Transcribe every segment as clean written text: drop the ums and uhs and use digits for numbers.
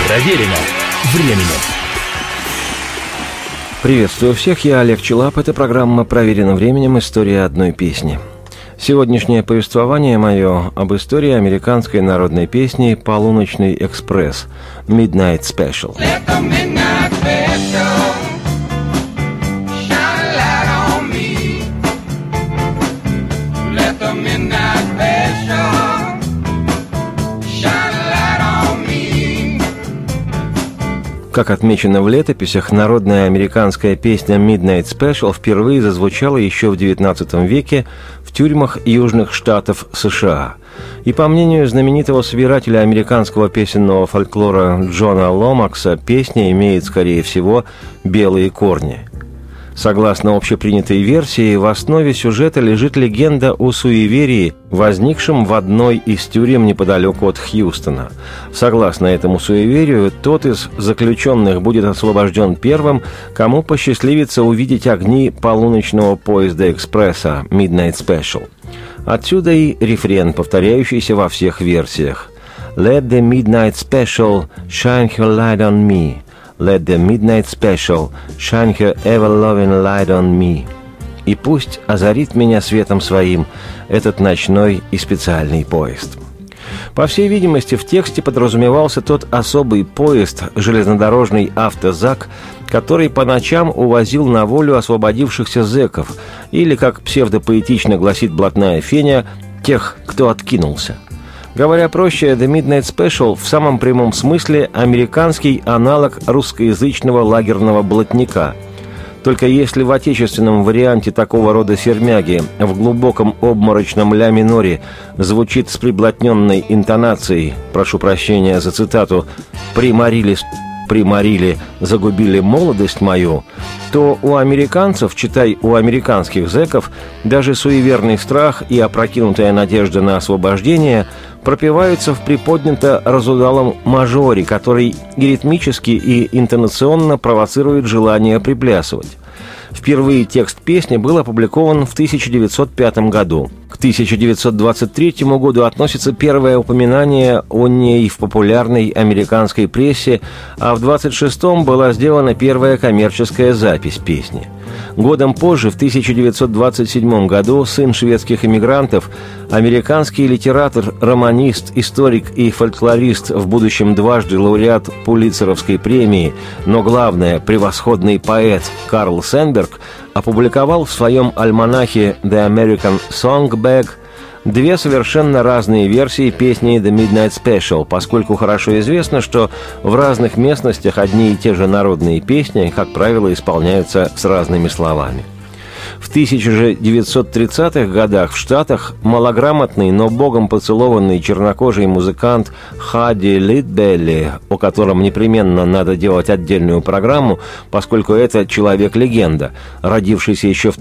Проверено временем. Приветствую всех, я Олег Челап. Это программа «Проверено временем. История одной песни». Сегодняшнее повествование мое об истории американской народной песни «Полуночный экспресс» «Midnight Special». Как отмечено в летописях, народная американская песня «Midnight Special» впервые зазвучала еще в XIX веке в тюрьмах южных штатов США. И по мнению знаменитого собирателя американского песенного фольклора Джона Ломакса, песня имеет, скорее всего, белые корни. Согласно общепринятой версии, в основе сюжета лежит легенда о суеверии, возникшем в одной из тюрем неподалеку от Хьюстона. Согласно этому суеверию, тот из заключенных будет освобожден первым, кому посчастливится увидеть огни полуночного поезда экспресса «Midnight Special». Отсюда и рефрен, повторяющийся во всех версиях. «Let the midnight special shine her light on me». «Let the midnight special shine her ever-loving light on me». И пусть озарит меня светом своим этот ночной и специальный поезд. По всей видимости, в тексте подразумевался тот особый поезд, железнодорожный автозак, который по ночам увозил на волю освободившихся зэков, или, как псевдопоэтично гласит блатная Феня, тех, кто откинулся. Говоря проще, The Midnight Special в самом прямом смысле американский аналог русскоязычного лагерного блатника. Только если в отечественном варианте такого рода сермяги в глубоком обморочном ля-миноре звучит с приблотненной интонацией, прошу прощения за цитату, «приморили, загубили молодость мою», то у американцев, читай, у американских зэков, даже суеверный страх и опрокинутая надежда на освобождение пропеваются в приподнято разудалом мажоре, который и ритмически, и интонационно провоцирует желание приплясывать. Впервые текст песни был опубликован в 1905 году. К 1923 году относится первое упоминание о ней в популярной американской прессе, а в 1926 была сделана первая коммерческая запись песни. Годом позже, в 1927 году, сын шведских эмигрантов, американский литератор, романист, историк и фольклорист, в будущем дважды лауреат Пулитцеровской премии, но главное, превосходный поэт Карл Сенберг опубликовал в своем альманахе «The American Songbag» две совершенно разные версии песни «The Midnight Special», поскольку хорошо известно, что в разных местностях одни и те же народные песни, как правило, исполняются с разными словами. В 1930-х годах в Штатах малограмотный, но богом поцелованный чернокожий музыкант Хадди Литбелли, о котором непременно надо делать отдельную программу, поскольку это человек-легенда. Родившийся еще в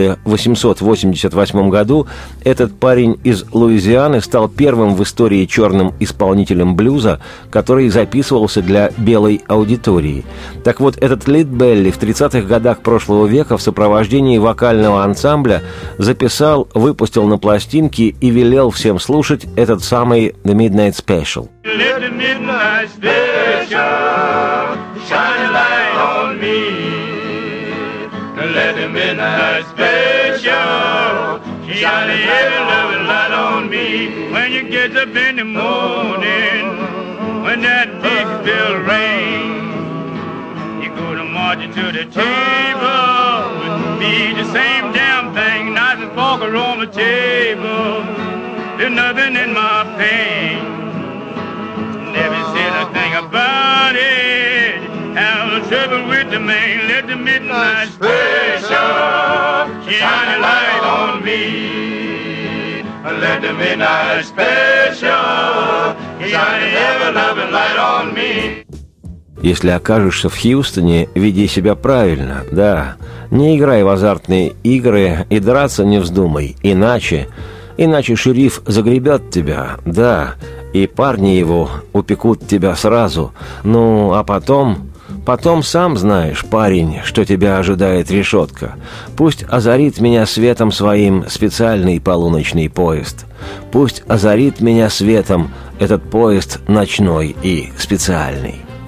1888 году, этот парень из Луизианы стал первым в истории черным исполнителем блюза, который записывался для белой аудитории. Так вот, этот Литбелли в 30-х годах прошлого века в сопровождении вокального ансамбля записал, выпустил на пластинки и велел всем слушать этот самый «The Midnight Special». Let the midnight special shine a light on me. Let the midnight special shine a loving light on me. When you get up in the morning, when that big bell rings, you go to marching to the table. Be the same damn thing, knife and fork are on the table. There's nothing in my pain. Never said a thing about it. Have no trouble with the man. Let the midnight special shine a light on me. Let the midnight special shine a ever-loving light on me. Если окажешься в Хьюстоне, веди себя правильно, да. Не играй в азартные игры и драться не вздумай, иначе шериф загребет тебя, да, и парни его упекут тебя сразу. Ну, а потом сам знаешь, парень, что тебя ожидает решетка. Пусть озарит меня светом своим специальный полуночный поезд. Пусть озарит меня светом этот поезд ночной и специальный.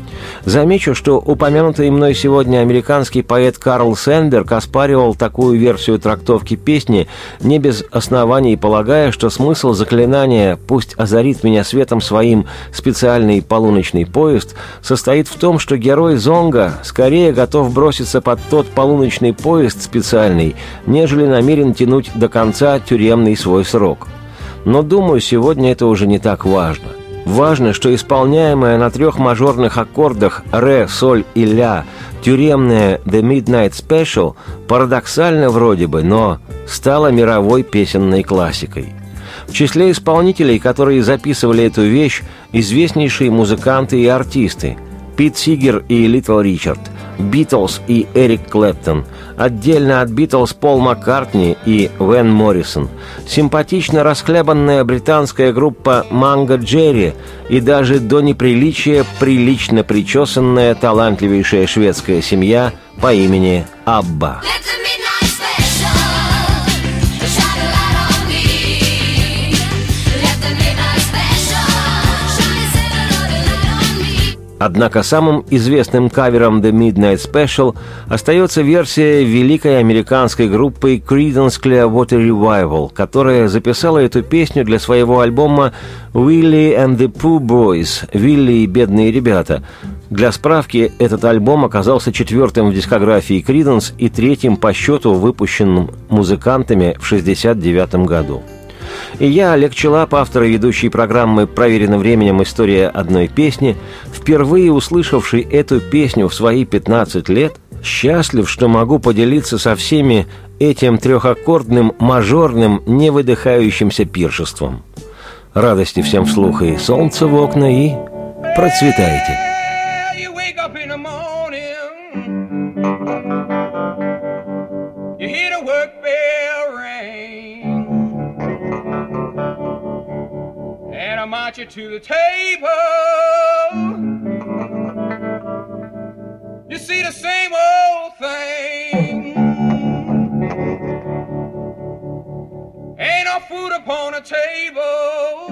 Замечу, что упомянутый мной сегодня американский поэт Карл Сенберг оспаривал такую версию трактовки песни, не без оснований полагая, что смысл заклинания «Пусть озарит меня светом своим специальный полуночный поезд» состоит в том, что герой Зонга скорее готов броситься под тот полуночный поезд специальный, нежели намерен тянуть до конца тюремный свой срок. Но, думаю, сегодня это уже не так важно. Важно, что исполняемая на 3 мажорных аккордах ре, соль и ля тюремная «The Midnight Special» парадоксально вроде бы, но стала мировой песенной классикой. В числе исполнителей, которые записывали эту вещь, известнейшие музыканты и артисты – Пит Сигер и Литл Ричард, Битлз и Эрик Клэптон, отдельно от Битлз Пол Маккартни и Вэн Моррисон, симпатично расхлябанная британская группа Манго Джерри и даже до неприличия прилично причесанная талантливейшая шведская семья по имени Абба. Однако самым известным кавером The Midnight Special остается версия великой американской группы Creedence Clearwater Revival, которая записала эту песню для своего альбома «Willie and the Pooh Boys» «Вилли и бедные ребята». Для справки, этот альбом оказался 4-м в дискографии Creedence и 3-м по счету, выпущенным музыкантами в 1969 году. И я, Олег Челап, автор и ведущий программы «Проверено временем. История одной песни», впервые услышавший эту песню в свои 15 лет, счастлив, что могу поделиться со всеми этим трехаккордным, мажорным, невыдыхающимся пиршеством. Радости всем вслух и солнца в окна, и процветайте! I march you to the table. You see the same old thing. Ain't no food upon the table.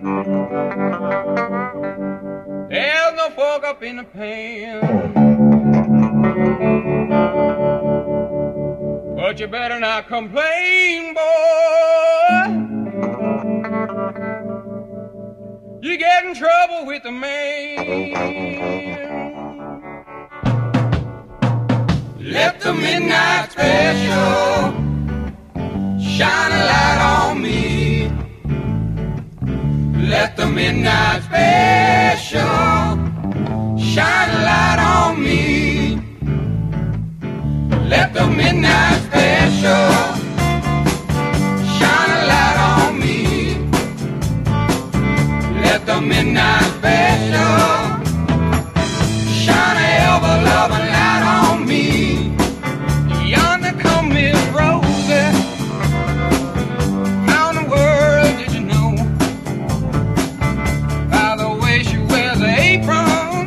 There's no fork up in the pan. But you better not complain, boy. You get in trouble with the man. Let the midnight special shine a light on me. Let the midnight special shine a light on me. Let the midnight special shine a light on me. Let the midnight special shine a ever-loving light on me. Yonder come Miss Rosie. How in the world did you know? By the way she wears her apron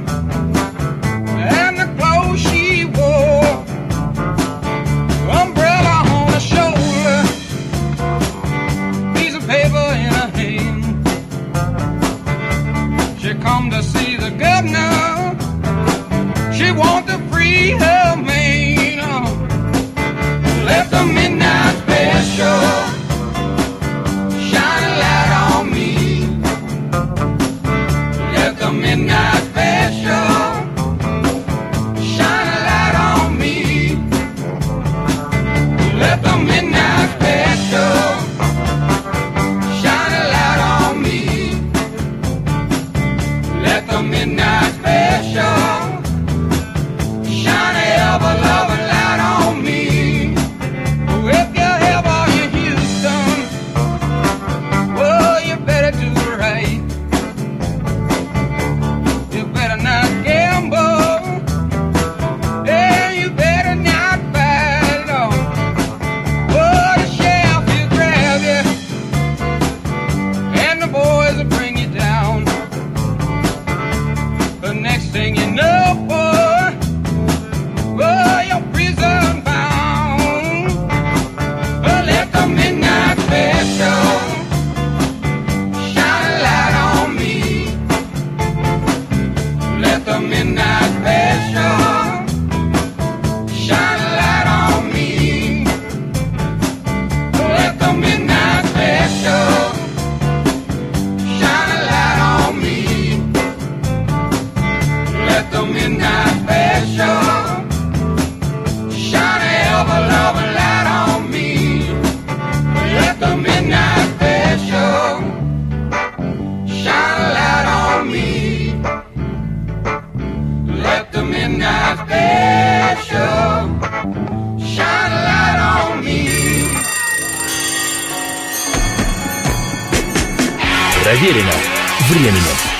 and the clothes she wore. Umbrella on her shoulder. Проверено временем.